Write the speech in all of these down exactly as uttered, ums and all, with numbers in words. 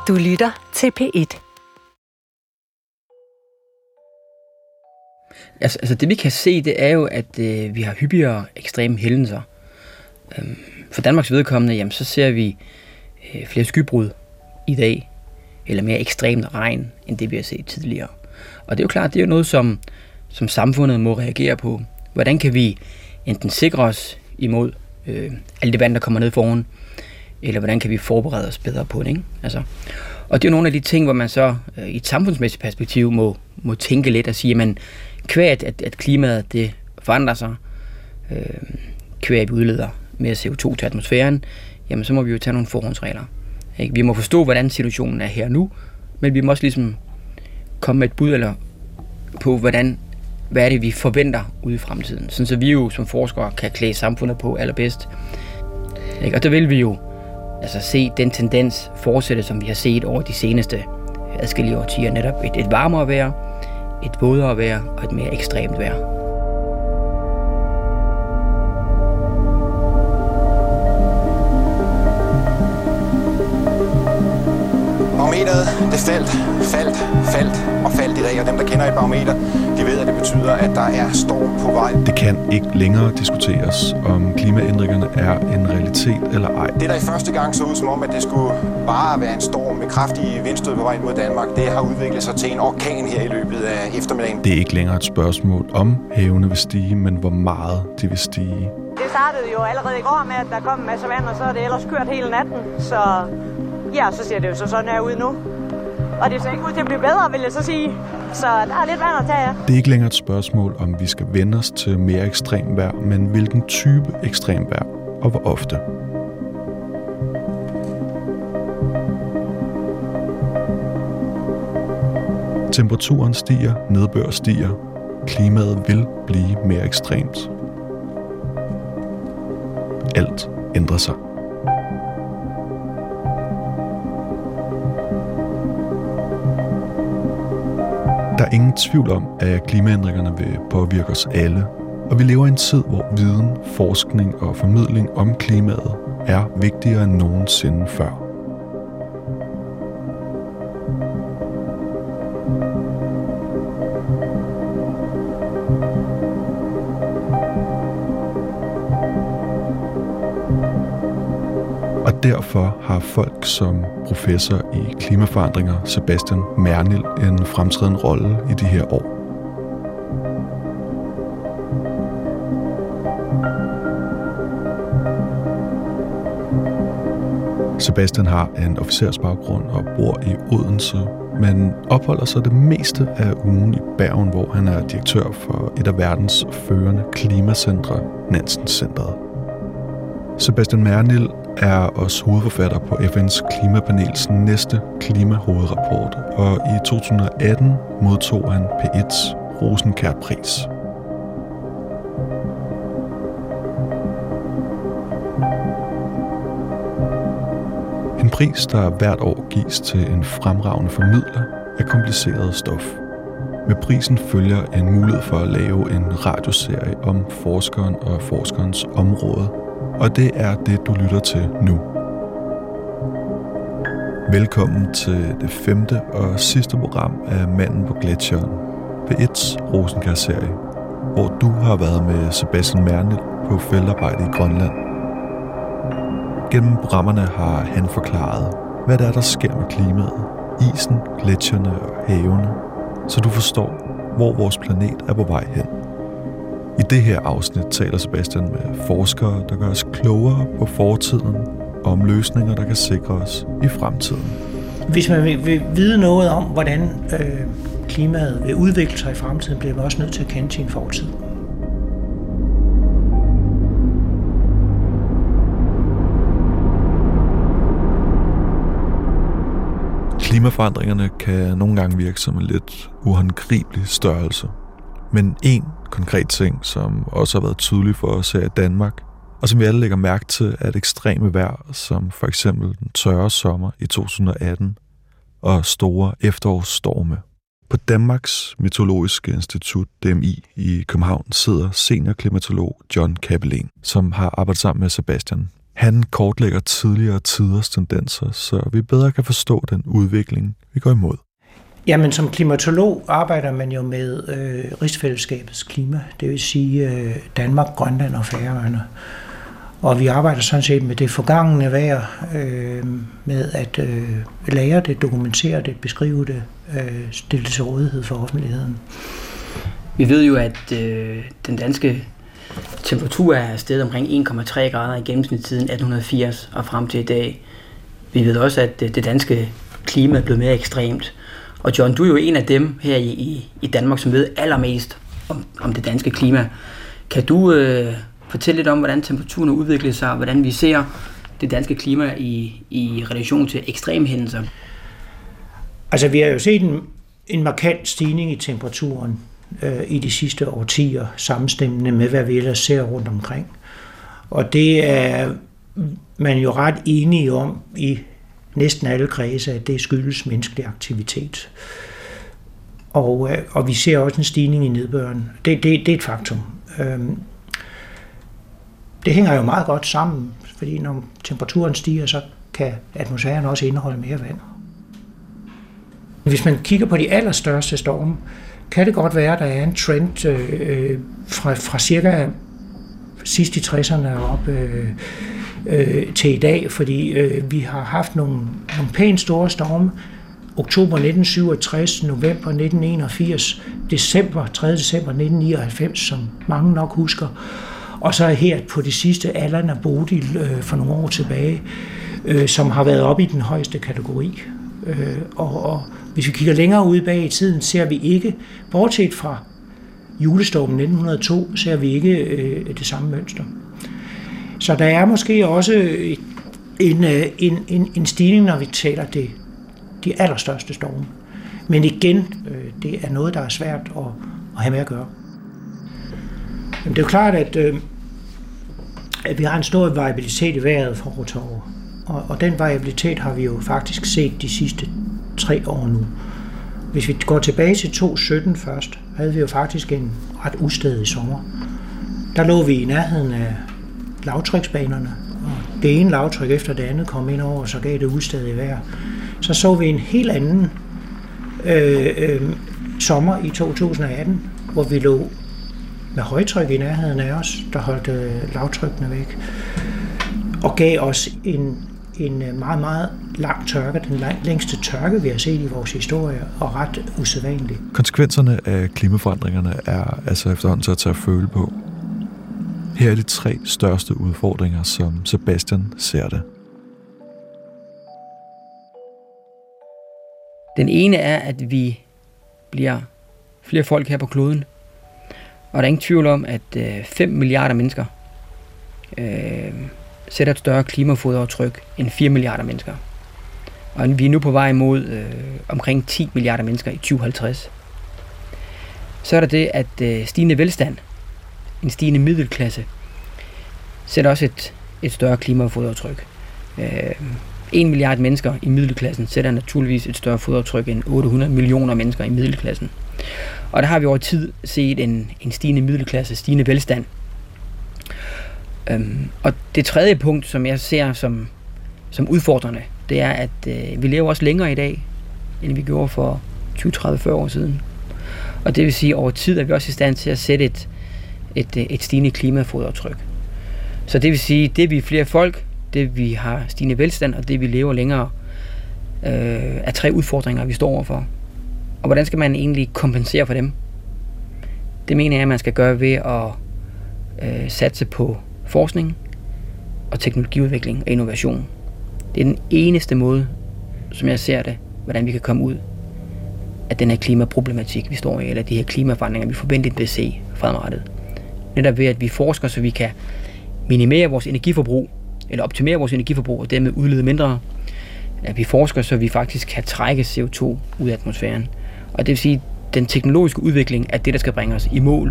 Du lytter til P et. Altså, altså det vi kan se, det er jo, at øh, vi har hyppigere ekstreme hændelser. Øhm, for Danmarks vedkommende, jamen, så ser vi øh, flere skybrud i dag, eller mere ekstremt regn, end det vi har set tidligere. Og det er jo klart, det er jo noget, som, som samfundet må reagere på. Hvordan kan vi enten sikre os imod øh, alt det vand, der kommer ned foran, eller hvordan kan vi forberede os bedre på det, ikke? Altså, og det er jo nogle af de ting, hvor man så øh, i et samfundsmæssigt perspektiv må, må tænke lidt og sige, jamen, kvæg at, at klimaet det forandrer sig, øh, kvæg at vi udleder mere C O to til atmosfæren, jamen så må vi jo tage nogle forhåndsregler. Ikke? Vi må forstå, hvordan situationen er her nu, men vi må også ligesom komme med et bud eller på, hvordan, hvad er det, vi forventer ude i fremtiden. Sådan så vi jo som forskere kan klæde samfundet på allerbedst. Ikke? Og der vil vi jo altså se den tendens fortsætte, som vi har set over de seneste adskillige årtier, netop et, et varmere vejr, et vådere vejr og et mere ekstremt vejr. Barometeret, det faldt, faldt, faldt og faldt i dag, og dem, der kender et barometer, de ved, at det betyder, at der er storm på vej. Det kan ikke længere diskuteres, om klimaændringerne er en realitet eller ej. Det, der i første gang så ud som om, at det skulle bare være en storm med kraftige vindstød på vej mod Danmark, det har udviklet sig til en orkan her i løbet af eftermiddagen. Det er ikke længere et spørgsmål om havene vil stige, men hvor meget de vil stige. Det startede jo allerede i går med, at der kom en masse vand, og så er det ellers kørt hele natten, så... Ja, så ser det jo så sådan her ud nu. Og det ser ikke ud til at blive bedre, vil jeg så sige. Så der er lidt vand at tage af. Det er ikke længere et spørgsmål, om vi skal vende os til mere ekstrem vejr, men hvilken type ekstrem vejr, og hvor ofte. Temperaturen stiger, nedbør stiger. Klimaet vil blive mere ekstremt. Alt ændrer sig. Der er ingen tvivl om, at klimaændringerne vil påvirke os alle, og vi lever i en tid, hvor viden, forskning og formidling om klimaet er vigtigere end nogensinde før. Og derfor har folk som professor i klimaforandringer, Sebastian Mernild, en fremtrædende rolle i de her år. Sebastian har en officersbaggrund og bor i Odense, men opholder sig det meste af ugen i Bergen, hvor han er direktør for et af verdens førende klimacentre, Nansen-centret. Sebastian Mernild er også hovedforfatter på F N's klimapanels næste klimahovedrapport, og i to tusind og atten modtog han P et's Rosenkjær-pris. En pris, der hvert år gives til en fremragende formidler af kompliceret stof. Med prisen følger en mulighed for at lave en radioserie om forskeren og forskerens område, og det er det, du lytter til nu. Velkommen til det femte og sidste program af Manden på Gletsjeren, P et's Rosenkjær-serie, hvor du har været med Sebastian Mernild på feltarbejde i Grønland. Gennem programmerne har han forklaret, hvad det er, der sker med klimaet, isen, gletsjerne og havene, så du forstår, hvor vores planet er på vej hen. I det her afsnit taler Sebastian med forskere, der gør os klogere på fortiden og om løsninger, der kan sikre os i fremtiden. Hvis man vil, vil vide noget om, hvordan øh, klimaet vil udvikle sig i fremtiden, bliver man også nødt til at kende sin fortid. Klimaforandringerne kan nogle gange virke som en lidt uhåndgribelig størrelse. Men en konkret ting, som også har været tydelig for os her i Danmark, og som vi alle lægger mærke til, er et ekstreme vejr, som for eksempel den tørre sommer i to tusind og atten og store efterårsstorme. På Danmarks Meteorologiske Institut, D M I, i København sidder seniorklimatolog John Kabelin, som har arbejdet sammen med Sebastian. Han kortlægger tidligere tiders tendenser, så vi bedre kan forstå den udvikling, vi går imod. Jamen, som klimatolog arbejder man jo med øh, rigsfællesskabets klima, det vil sige øh, Danmark, Grønland og Færøerne. Og vi arbejder sådan set med det forgangne vejr, øh, med at øh, lære det, dokumentere det, beskrive det, øh, stille det til rådighed for offentligheden. Vi ved jo, at øh, den danske temperatur er steget omkring en komma tre grader i gennemsnit siden atten firs og frem til i dag. Vi ved også, at det danske klima er blevet mere ekstremt. Og John, du er jo en af dem her i, i, i Danmark, som ved allermest om, om det danske klima. Kan du øh, fortælle lidt om, hvordan temperaturen udvikler sig, og hvordan vi ser det danske klima i, i relation til ekstreme hændelser? Altså, vi har jo set en, en markant stigning i temperaturen øh, i de sidste årtier, sammenstemmende med, hvad vi ellers ser rundt omkring. Og det er man jo ret enige om i næsten alle kredse, at det skyldes menneskelig aktivitet. Og, og vi ser også en stigning i nedbøren. Det, det, det er et faktum. Øhm, det hænger jo meget godt sammen, fordi når temperaturen stiger, så kan atmosfæren også indeholde mere vand. Hvis man kigger på de allerstørste storme, kan det godt være, at der er en trend øh, fra, fra cirka sidst i tresserne op øh, øh, til i dag, fordi øh, vi har haft nogle, nogle pænt store storme. Oktober nitten syvogtres, november nitten enogfirs, december, tredje december nitten nioghalvfems, som mange nok husker. Og så her på det sidste, Allan og Bodil øh, for nogle år tilbage, øh, som har været oppe i den højeste kategori. Øh, og, og hvis vi kigger længere ud bag i tiden, ser vi ikke, bortset fra julestormen nitten hundrede og to, ser vi ikke øh, det samme mønster. Så der er måske også en, en, en, en stigning, når vi taler det, de allerstørste storme. Men igen, øh, det er noget, der er svært at, at have med at gøre. Men det er jo klart, at, øh, at vi har en stor variabilitet i vejret fra år til år. Og, og den variabilitet har vi jo faktisk set de sidste tre år nu. Hvis vi går tilbage til to tusind sytten først, havde vi jo faktisk en ret ustadig sommer. Der lå vi i nærheden af lavtryksbanerne, og det ene lavtryk efter det andet kom ind over, og så gav det ustadig vejr. Så så vi en helt anden øh, øh, sommer i to tusind atten, hvor vi lå med højtryk i nærheden af os, der holdt øh, lavtrykkene væk, og gav os en, en meget, meget lang tørke, den længste tørke, vi har set i vores historie, og ret usædvanlig. Konsekvenserne af klimaforandringerne er altså efterhånden til at tage at føle på. Her er de tre største udfordringer, som Sebastian ser det. Den ene er, at vi bliver flere folk her på kloden. Og der er ingen tvivl om, at øh, fem milliarder mennesker øh, sætter et større klimafoderaftryk end fire milliarder mennesker. Og vi er nu på vej mod øh, omkring ti milliarder mennesker i tyve halvtreds. Så er der det, at øh, stigende velstand, en stigende middelklasse, sætter også et, et større klimafoderaftryk. Øh, en milliard mennesker i middelklassen sætter naturligvis et større fodaftryk end otte hundrede millioner mennesker i middelklassen. Og der har vi over tid set en, en stigende middelklasse, stigende velstand. Øhm, og det tredje punkt, som jeg ser som, som udfordrende, det er, at øh, vi lever også længere i dag, end vi gjorde for tyve, tredive, fyrre år siden. Og det vil sige, at over tid er vi også i stand til at sætte et, et, et stigende klimafodaftryk. Så det vil sige, det vi er flere folk, det vi har stigende velstand, og det vi lever længere, øh, er tre udfordringer, vi står overfor. Og hvordan skal man egentlig kompensere for dem? Det mener jeg, at man skal gøre ved at øh, satse på forskning og teknologiudvikling og innovation. Det er den eneste måde, som jeg ser det, hvordan vi kan komme ud af den her klimaproblematik, vi står i, eller de her klimaforandringer, vi forventeligt vil se fremadrettet. Netop ved, at vi forsker, så vi kan minimere vores energiforbrug, eller optimere vores energiforbrug, og dermed udlede mindre. At vi forsker, så vi faktisk kan trække C O to ud af atmosfæren. Og det vil sige, at den teknologiske udvikling er det, der skal bringe os i mål.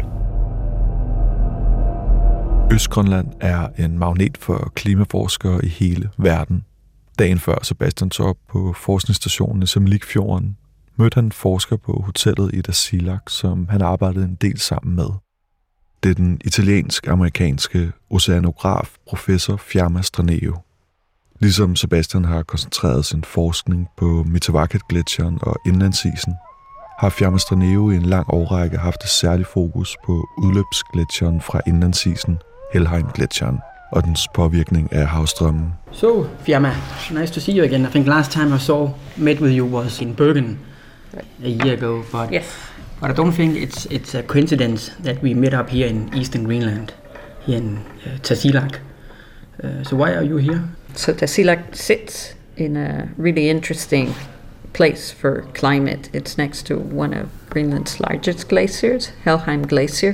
Østgrønland er en magnet for klimaforskere i hele verden. Dagen før Sebastian tog op på forskningsstationen i Semlikfjorden, mødte han en forsker på hotellet i Tasiilaq, som han arbejdede en del sammen med. Det er den italiensk-amerikanske oceanograf professor Fiamma Sträneu. Ligesom Sebastian har koncentreret sin forskning på Mitavakket-gletsjeren og indlandsisen, har Fiamma Sträneu i en lang årrække haft et særligt fokus på udløbsgletsjeren fra indlandsisen, Helheim-gletsjeren, og dens påvirkning af havstrømmen. So, Fiamma, nice to see you again. I think last time I saw, met with you was in Bergen a year ago, but, yes. but I don't think it's it's a coincidence that we met up here in eastern Greenland, here in uh, Tasiilaq. Uh, so why are you here? So Tasiilaq sits in a really interesting place for climate. It's next to one of Greenland's largest glaciers, Helheim Glacier.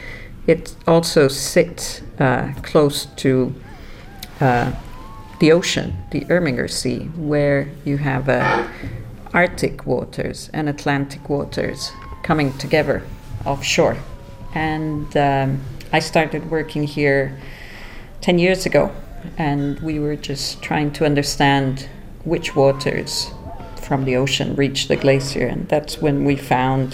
It also sits uh, close to uh, the ocean, the Irminger Sea, where you have uh, Arctic waters and Atlantic waters coming together offshore. And um, I started working here ten years ago, and we were just trying to understand which waters from the ocean reach the glacier, and that's when we found,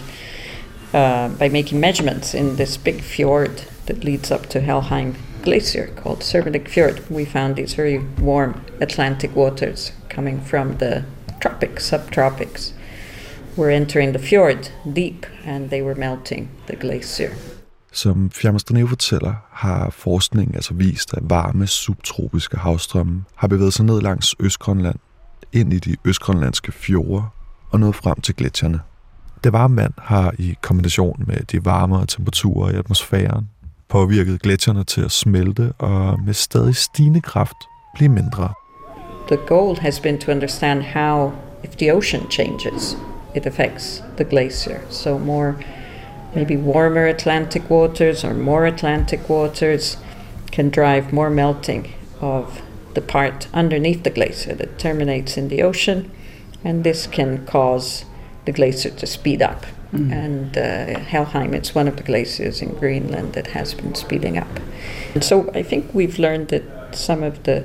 uh, by making measurements in this big fjord that leads up to Helheim Glacier called Sermelik Fjord, we found these very warm Atlantic waters coming from the tropics, subtropics, were entering the fjord deep, and they were melting the glacier. Som Fiamma Sträneu fortæller, har forskningen altså vist, at varme subtropiske havstrømme har bevæget sig ned langs Østgrønland, ind i de østgrønlandske fjorde og nået frem til gletsjerne. Det varme vand har i kombination med de varmere temperaturer i atmosfæren påvirket gletsjerne til at smelte og med stadig stigende kraft blive mindre. The goal has been to understand how, if the ocean changes, it affects the glacier. So more, maybe warmer Atlantic waters or more Atlantic waters can drive more melting of the part underneath the glacier that terminates in the ocean, and this can cause the glacier to speed up. Mm. And uh, Helheim, it's one of the glaciers in Greenland that has been speeding up. And so I think we've learned that some of the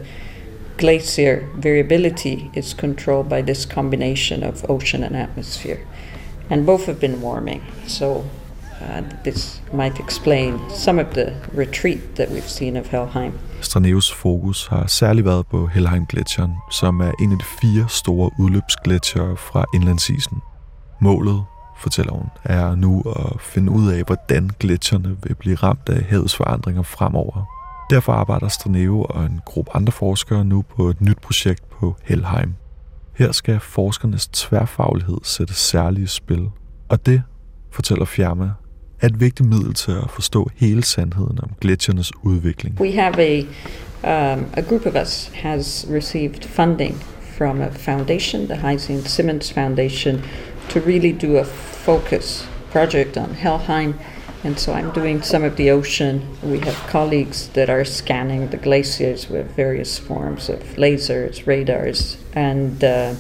glacier variability is controlled by this combination of ocean and atmosphere. And both have been warming, so uh, this might explain some of the retreat that we've seen of Helheim. Straneus fokus har særligt været på Helheim-gletsjeren, som er en af de fire store udløbsgletsjere fra indlandsisen. Målet, fortæller hun, er nu at finde ud af, hvordan gletsjerne vil blive ramt af havets forandringer fremover. Derfor arbejder Sträneu og en gruppe andre forskere nu på et nyt projekt på Helheim. Her skal forskernes tværfaglighed sættes særligt i spil, og det, fortæller Fiamma, er et vigtigt middel til at forstå hele sandheden om gletsjernes udvikling. We have a um, a group of us has received funding from a foundation, the Hyacinthe Simmons Foundation, to really do a focus project on Helheim. And so I'm doing some of the ocean. We have colleagues that are scanning the glaciers with various forms of lasers, radars, and uh,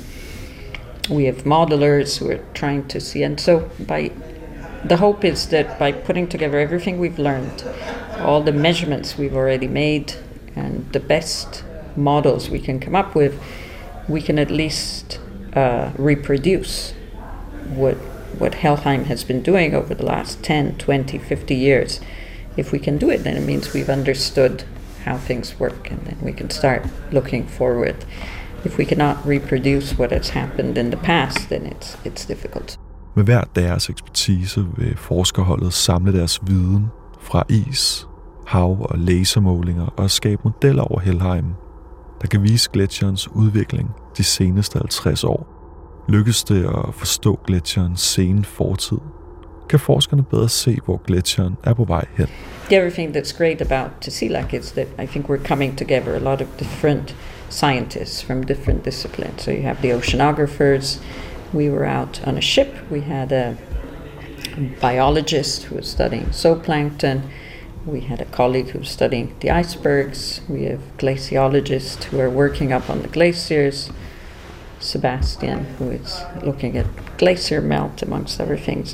we have modelers who are trying to see. And so by the hope is that by putting together everything we've learned, all the measurements we've already made, and the best models we can come up with, we can at least uh, reproduce what what Helheim has been doing over the last ten, twenty, fifty years. If we can do it, then it means we've understood how things work, and then we can start looking forward. If we cannot reproduce what has happened in the past, then it's it's difficult. Med hver deres ekspertise vil forskerholdet samle deres viden fra is, hav og lasermålinger og skabe modeller over Helheim, der kan vise gletsjerens udvikling de seneste halvtreds år. Lykkes det at forstå gletsjerens sene fortid, kan forskerne bedre se, hvor gletsjeren er på vej hen. The other thing that's great about Tasiilaq is that I think we're coming together a lot of different scientists from different disciplines. So you have the oceanographers. We were out on a ship. We had a biologist who was studying zooplankton. We had a colleague who was studying the icebergs. We have glaciologists who are working up on the glaciers. Sebastian, who is looking at glacier melt, amongst other things.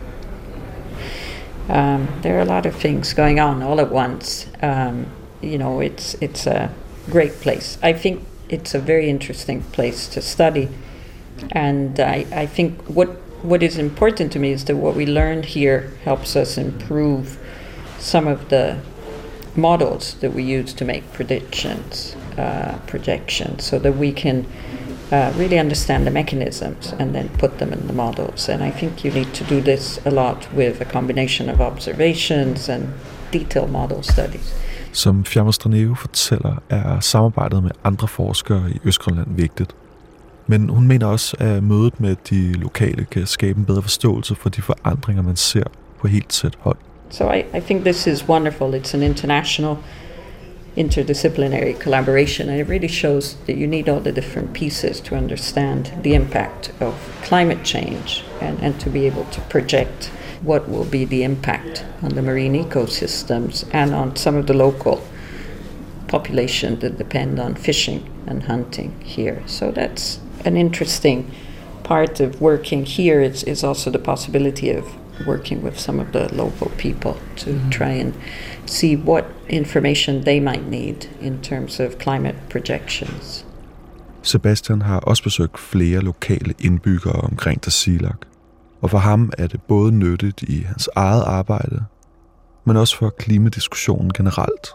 Um, there are a lot of things going on all at once. Um, you know, it's it's a great place. I think it's a very interesting place to study, and I, I think what what is important to me is that what we learned here helps us improve some of the models that we use to make predictions, uh, projections, so that we can uh, really understand the mechanisms and then put them in the models. And I think you need to do this a lot with a combination of observations and detailed model studies. Som Fiamma Straneve fortæller, er samarbejdet med andre forskere i Østgrønland vigtigt. Men hun mener også, at mødet med de lokale kan skabe en bedre forståelse for de forandringer, man ser på helt tæt hold. So I, I think this is wonderful. It's an international, interdisciplinary collaboration, and it really shows that you need all the different pieces to understand the impact of climate change and, and to be able to project what will be the impact on the marine ecosystems and on some of the local population that depend on fishing and hunting here. So that's an interesting part of working here. It's, it's also the possibility of working with some of the local people to mm-hmm. try and see what information they might need in terms of climate projections. Sebastian har også besøgt flere lokale indbyggere omkring Tasiilaq, og for ham er det både nyttigt i hans eget arbejde, men også for klimadiskussionen generelt.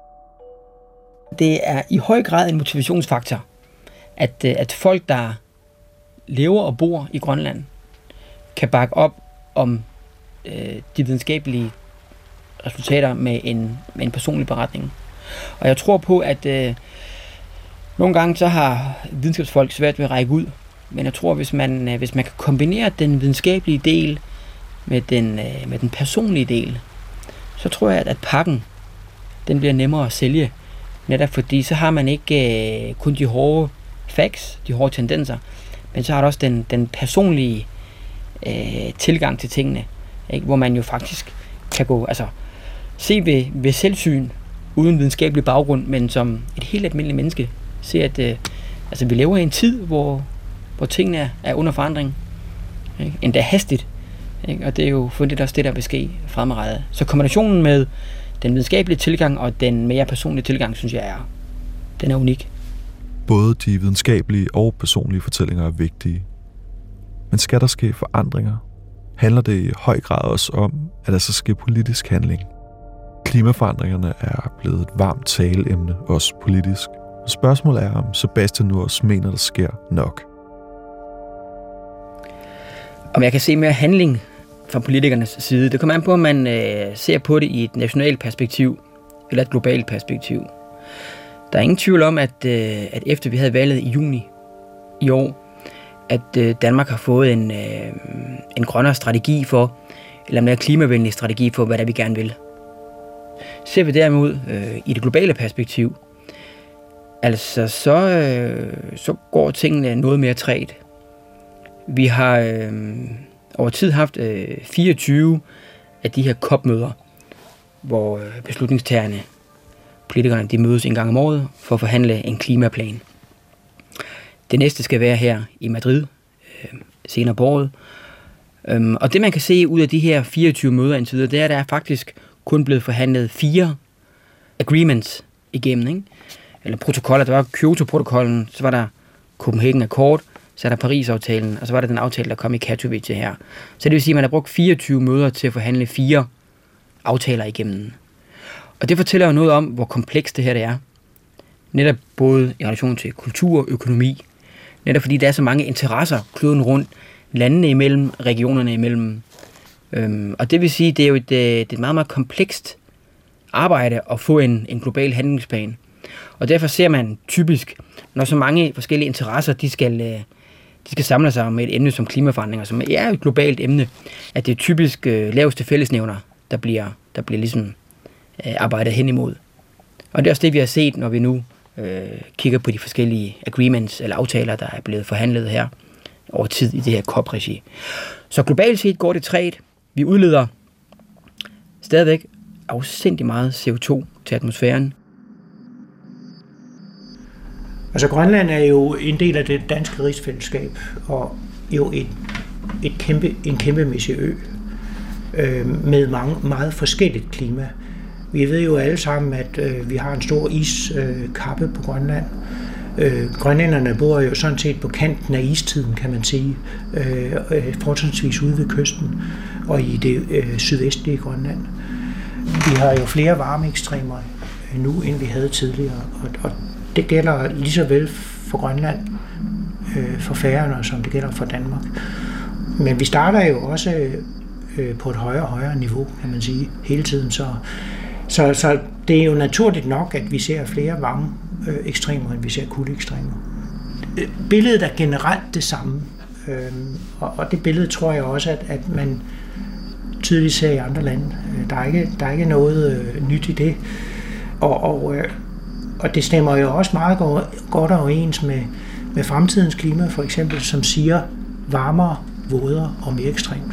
Det er i høj grad en motivationsfaktor, at, at folk, der lever og bor i Grønland, kan bakke op om øh, de videnskabelige resultater med en, med en personlig beretning. Og jeg tror på, at øh, nogle gange så har videnskabsfolk svært ved at række ud, men jeg tror, hvis man, øh, hvis man kan kombinere den videnskabelige del med den, øh, med den personlige del, så tror jeg, at, at pakken den bliver nemmere at sælge, netop fordi så har man ikke øh, kun de hårde facts, de hårde tendenser, men så har der også den, den personlige øh, tilgang til tingene, ikke? Hvor man jo faktisk kan gå, altså se ved, ved selvsyn, uden videnskabelig baggrund, men som et helt almindeligt menneske, se at øh, altså, vi lever i en tid, hvor, hvor tingene er, er under forandring, ikke? Endda hastigt, ikke? Og det er jo fundet også det, der vil ske fremadrettet. Så kombinationen med den videnskabelige tilgang og den mere personlige tilgang, synes jeg er, den er unik. Både de videnskabelige og personlige fortællinger er vigtige. Men skal der ske forandringer, handler det i høj grad også om, at der så sker politisk handling. Klimaforandringerne er blevet et varmt taleemne, også politisk. Og spørgsmålet er, om Sebastian nu også mener, der sker nok. Om jeg kan se mere handling fra politikernes side, det kommer an på, om man øh, ser på det i et nationalt perspektiv eller et globalt perspektiv. Der er ingen tvivl om, at, øh, at efter vi havde valget i juni i år, at øh, Danmark har fået en, øh, en grønnere strategi for, eller en mere klimavenlig strategi for, hvad der vi gerne vil. Ser vi derimod øh, i det globale perspektiv, altså så, øh, så går tingene noget mere trægt. Vi har øh, over tid haft øh, fireogtyve af de her C O P-møder, hvor øh, beslutningstagerne, politikerne, de mødes en gang om året for at forhandle en klimaplan. Det næste skal være her i Madrid øh, senere på året. Um, og det man kan se ud af de her fireogtyve møder indtil videre, det er, at der er faktisk kun blevet forhandlet fire agreements igennem, ikke? Eller protokoller. Der var Kyoto-protokollen, så var der Copenhagen Accord, så er der Paris-aftalen, og så var der den aftale, der kom i Katowice her. Så det vil sige, at man har brugt fireogtyve møder til at forhandle fire aftaler igennem. Og det fortæller jo noget om, hvor komplekst det her det er. Netop både i relation til kultur og økonomi. Netop fordi der er så mange interesser kloden rundt, landene imellem, regionerne imellem. Øhm, og det vil sige, det er jo et, det er et meget, meget komplekst arbejde at få en, en global handlingsplan. Og derfor ser man typisk, når så mange forskellige interesser, de skal, de skal samle sig om et emne som klimaforandringer, som er et globalt emne, at det er typisk øh, laveste fællesnævner, der bliver, der bliver ligesom øh, arbejdet hen imod. Og det er også det, vi har set, når vi nu øh, kigger på de forskellige agreements eller aftaler, der er blevet forhandlet her over tid i det her C O P-regi. Så globalt set går det trægt. Vi udleder stadigvæk afsindig meget C O to til atmosfæren. Altså Grønland er jo en del af det danske rigsfællesskab, og jo et, et kæmpe, en kæmpemæssig ø øh, med mange, meget forskelligt klima. Vi ved jo alle sammen, at øh, vi har en stor iskappe øh, på Grønland. Øh, grønlænderne bor jo sådan set på kanten af istiden, kan man sige, øh, fortrinsvis ude ved kysten og i det øh, sydvestlige Grønland. Vi har jo flere varmeekstremer nu, end vi havde tidligere, og, og det gælder lige så vel for Grønland, øh, for Færøerne, som det gælder for Danmark. Men vi starter jo også øh, på et højere og højere niveau, kan man sige, hele tiden. Så, så, så det er jo naturligt nok, at vi ser flere varme øh, ekstremer, end vi ser kuldeekstremer. Billedet er generelt det samme, øh, og, og det billede tror jeg også, at, at man tydeligt ser i andre lande. Der er ikke, der er ikke noget øh, nyt i det. Og, og, øh, og det stemmer jo også meget godt overens med, med fremtidens klima, for eksempel, som siger varmere, vådere og mere ekstremt.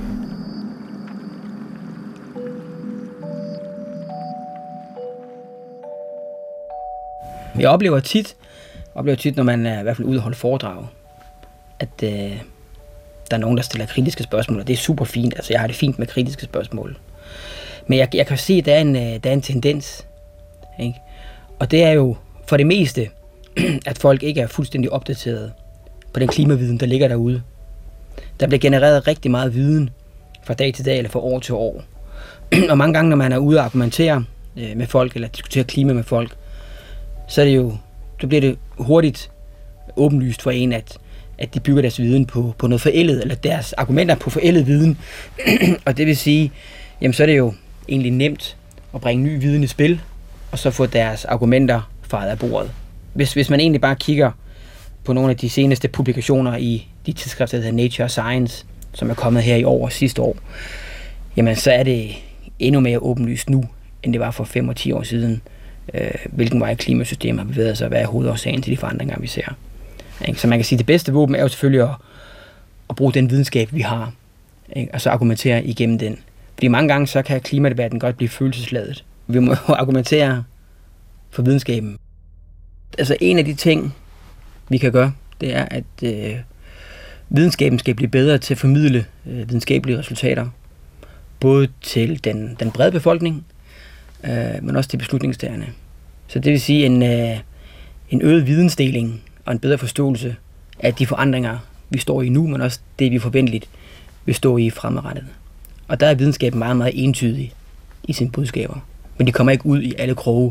Jeg oplever tit, oplever tit, når man er i hvert fald ude og holde foredrag, at øh, der er nogen, der stiller kritiske spørgsmål, og det er super fint. Altså, jeg har det fint med kritiske spørgsmål. Men jeg, jeg kan se, at der er en, der er en tendens, ikke? Og det er jo for det meste, at folk ikke er fuldstændig opdateret på den klimaviden, der ligger derude. Der bliver genereret rigtig meget viden fra dag til dag eller fra år til år. Og mange gange, når man er ude og argumentere med folk eller diskutere klima med folk, så er det jo, så bliver det hurtigt åbenlyst for en, at, at de bygger deres viden på, på noget forældet, eller deres argumenter på forældet viden. Og det vil sige, jamen så er det jo egentlig nemt at bringe ny viden i spil, og så få deres argumenter faret af bordet. Hvis, hvis man egentlig bare kigger på nogle af de seneste publikationer i de tidsskrifter, der hedder Nature Science, som er kommet her i år og sidste år, jamen så er det endnu mere åbenlyst nu, end det var for fem og ti år siden, øh, hvilken vej klimasystemet har bevæget sig, og hvad er hovedårsagen til de forandringer, vi ser. Så man kan sige, at det bedste våben er jo selvfølgelig at, at bruge den videnskab, vi har, ikke? Og så argumentere igennem den. Fordi mange gange, så kan klimadebatten godt blive følelsesladet. Vi må jo argumentere for videnskaben. Altså en af de ting, vi kan gøre, det er, at øh, videnskaben skal blive bedre til at formidle øh, videnskabelige resultater. Både til den, den brede befolkning, øh, men også til beslutningstagerne. Så det vil sige en, øh, en øget vidensdeling og en bedre forståelse af de forandringer, vi står i nu, men også det, vi forventeligt vil stå i fremadrettet. Og der er videnskaben meget, meget entydig i sine budskaber. Men de kommer ikke ud i alle kroge.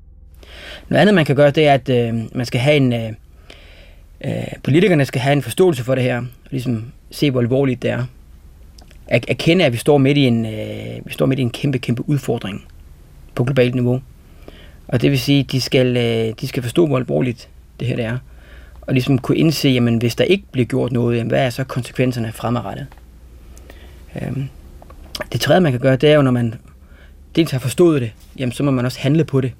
Noget andet, man kan gøre, det er, at øh, man skal have en... Øh, øh, politikerne skal have en forståelse for det her, og ligesom se, hvor alvorligt det er. At erkende, at vi står midt i en, øh, vi står midt i en kæmpe, kæmpe udfordring på globalt niveau. Og det vil sige, at de skal, øh, de skal forstå, hvor alvorligt det her det er. Og ligesom kunne indse, jamen, hvis der ikke bliver gjort noget, jamen, hvad er så konsekvenserne fremadrettet? Øhm, det tredje, man kan gøre, det er jo, når man dels har forstået det, jamen, så må man også handle på det.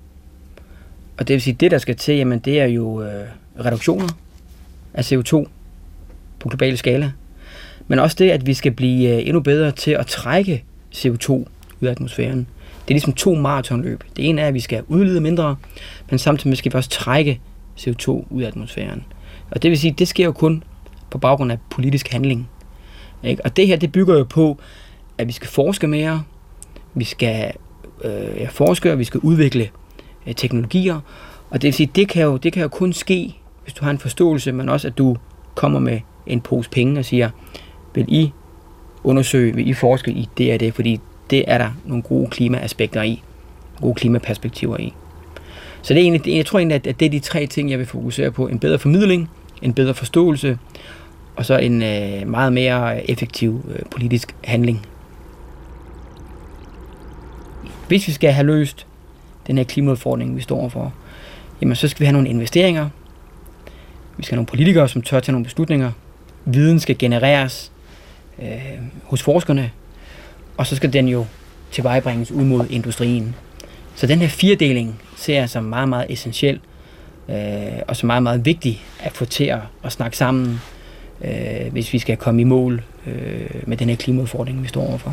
Og det vil sige, det der skal til, jamen, det er jo øh, reduktioner af C O to på global skala. Men også det, at vi skal blive øh, endnu bedre til at trække C O to ud af atmosfæren. Det er ligesom to maratonløb. Det ene er, at vi skal udlede mindre, men samtidig skal vi også trække C O to ud af atmosfæren. Og det vil sige, det sker jo kun på baggrund af politisk handling. Ikke? Og det her, det bygger jo på, at vi skal forske mere, vi skal øh, forske, og vi skal udvikle øh, teknologier. Og det vil sige, det kan, jo, det kan jo kun ske, hvis du har en forståelse, men også, at du kommer med en pose penge og siger, vil I undersøge, vil I forske i det og det, fordi det er der nogle gode klimaaspekter i, gode klimaperspektiver i. Så det er egentlig, jeg tror egentlig, at det er de tre ting, jeg vil fokusere på. En bedre formidling, en bedre forståelse, og så en øh, meget mere effektiv øh, politisk handling. Hvis vi skal have løst den her klimaudfordring, vi står overfor, jamen så skal vi have nogle investeringer. Vi skal have nogle politikere, som tør tage nogle beslutninger. Viden skal genereres øh, hos forskerne, og så skal den jo tilvejebringes ud mod industrien. Så den her firedeling ser jeg som meget, meget essentiel, øh, og som meget, meget vigtig at få til at, at snakke sammen, øh, hvis vi skal komme i mål øh, med den her klimaudfordring, vi står overfor.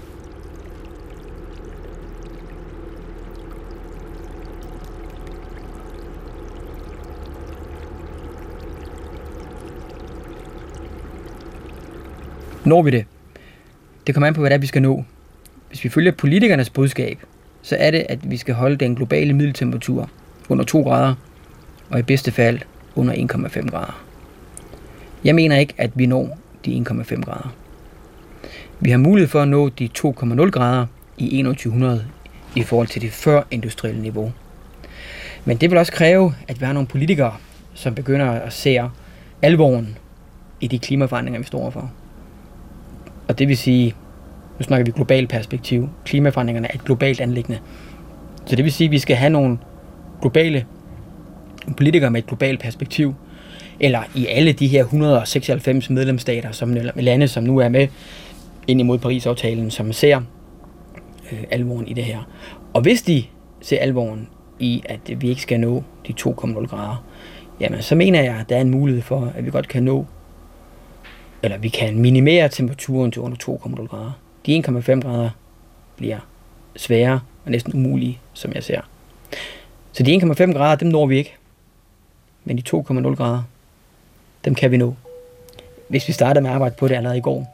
Når vi det? Det kommer an på, hvad det er, vi skal nå. Hvis vi følger politikernes budskab, så er det, at vi skal holde den globale middeltemperatur under to grader, og i bedste fald under en komma fem grader. Jeg mener ikke, at vi når de en komma fem grader. Vi har mulighed for at nå de to komma nul grader i enogtyve hundrede i forhold til det førindustrielle niveau. Men det vil også kræve, at vi har nogle politikere, som begynder at se alvoren i de klimaforandringer, vi står for. Og det vil sige, nu snakker vi globalt perspektiv. Klimaforandringerne er et globalt anliggende. Så det vil sige, at vi skal have nogle globale politikere med et globalt perspektiv, eller i alle de her et hundrede og seksoghalvfems medlemsstater, som lande, som nu er med ind imod Paris-aftalen, som ser øh, alvoren i det her. Og hvis de ser alvoren i, at vi ikke skal nå de to komma nul grader, jamen så mener jeg, at der er en mulighed for, at vi godt kan nå, eller vi kan minimere temperaturen til under to komma nul grader. De en komma fem grader bliver svære og næsten umulige, som jeg ser. Så de en komma fem grader, dem når vi ikke. Men de to komma nul grader, dem kan vi nå. Hvis vi starter med at arbejde på det allerede i går.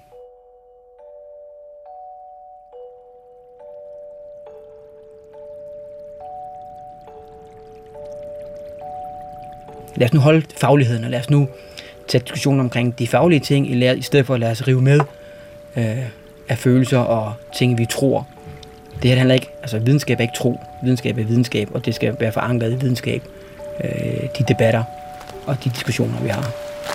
Lad os nu holde fagligheden, og lad os nu tage diskussionen omkring de faglige ting, i stedet for at lade os rive med øh, af følelser og ting, vi tror. Det her handler ikke, altså videnskab er ikke tro, videnskab er videnskab, og det skal være forankret i videnskab, øh, de debatter og de diskussioner, vi har.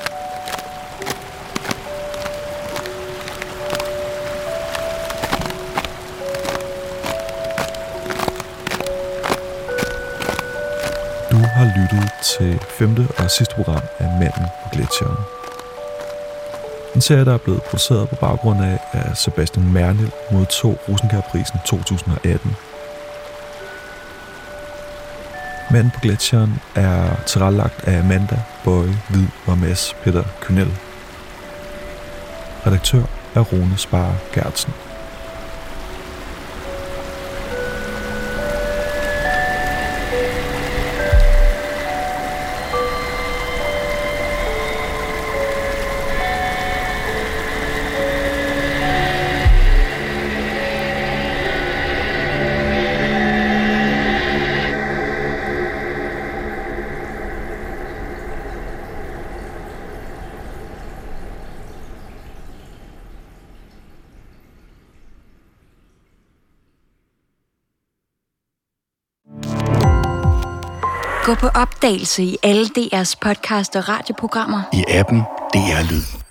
Du har lyttet til femte og sidste program af Manden på Gletsjeren. En serie, der er blevet produceret på baggrund af, at Sebastian Mernild modtog Rosenkjærprisen to tusind og atten. Manden på Gletsjeren er tilrettelagt af Amanda, Bøje, Hvid og Mads Peter Kynel. Redaktør er Rune Spare Gertsen. Gå på opdagelse i alle D R's podcast og radioprogrammer. I appen D R Lyd.